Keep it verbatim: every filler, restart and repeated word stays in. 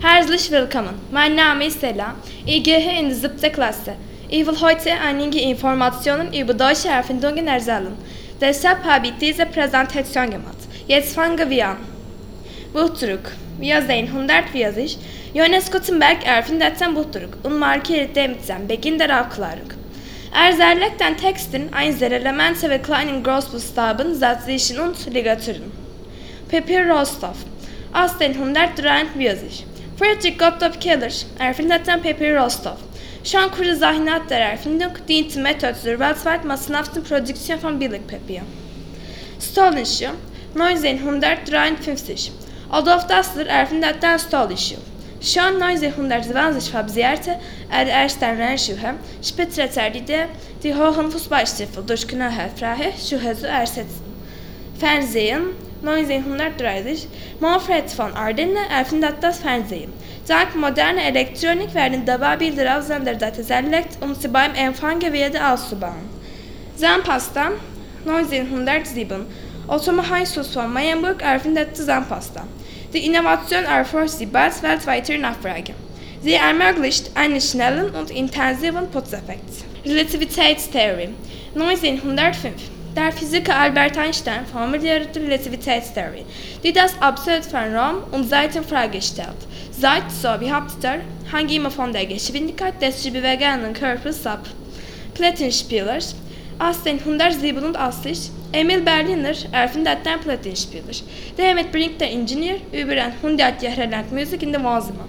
Herzlich willkommen. Mein Name ist Ella. Ich gehe in die siebte Klasse. Ich will heute einige Informationen über deutsche Erfindungen erzählen. Deshalb habe ich diese Präsentation gemacht. Jetzt fangen wir an. Buchdruck. Wir sehen hundertvierzig. Johannes Gutenberg erfindet den Buchdruck und markiert damit den Beginn der Aufklärung. Er zerlegt den Texten einzelne Elemente ve kleinen Großbuchstaben, Sätzlichen und Ligaturen. Pepper Rostov. achtzehnhundertdreiundvierzig. Friedrich Gottlob Keller erfindet den Pepper Rostov. Schon kurze nach der Erfindung diente Methode zur weltweit massenhaften Produktion von Billigpapier. Stolenschuh. neunzehnhundertdreiundfünfzig. Adolf Dassler erfindet den Stolenschuh. Schon neunzehnhundertzwanzig fabrizierte er ersten Rennschuhe, später die die hohen Fußballstiefel durch knöchelfreie Schuhe zu ersetzen. Fernsehen. neunzehnhundertdreißig. Manfred von Ardenne erfindet das Fernsehen. Dank moderner Elektronik werden dabei Bilder auf Senderdaten zerlegt, um sie beim Empfang wieder auszubauen. Zahnpasta. neunzehnhundertsieben. Otto Heinzus von Meyenburg erfindete Zahnpasta. Die Innovation erforscht die bald weltweite Nachfrage. Sie ermöglicht einen schnellen und intensiven Putzeffekt. Relativitätstheorie. neunzehnhundertfünf. Der Physiker Albert Einstein formulierte die Relativitätstheorie, die das Absolut von Raum und Zeit in Frage stellt. Zeit, so behauptet er, hängt immer von der Geschwindigkeit des zu bewegenden Körpers ab. Plattenspieler. achtzehnhundertsiebenundachtzig. Emil Berliner erfindet den Plattenspieler. Damit bringt der Ingenieur über hundert Jahre lang Musik in die Wohnzimmer.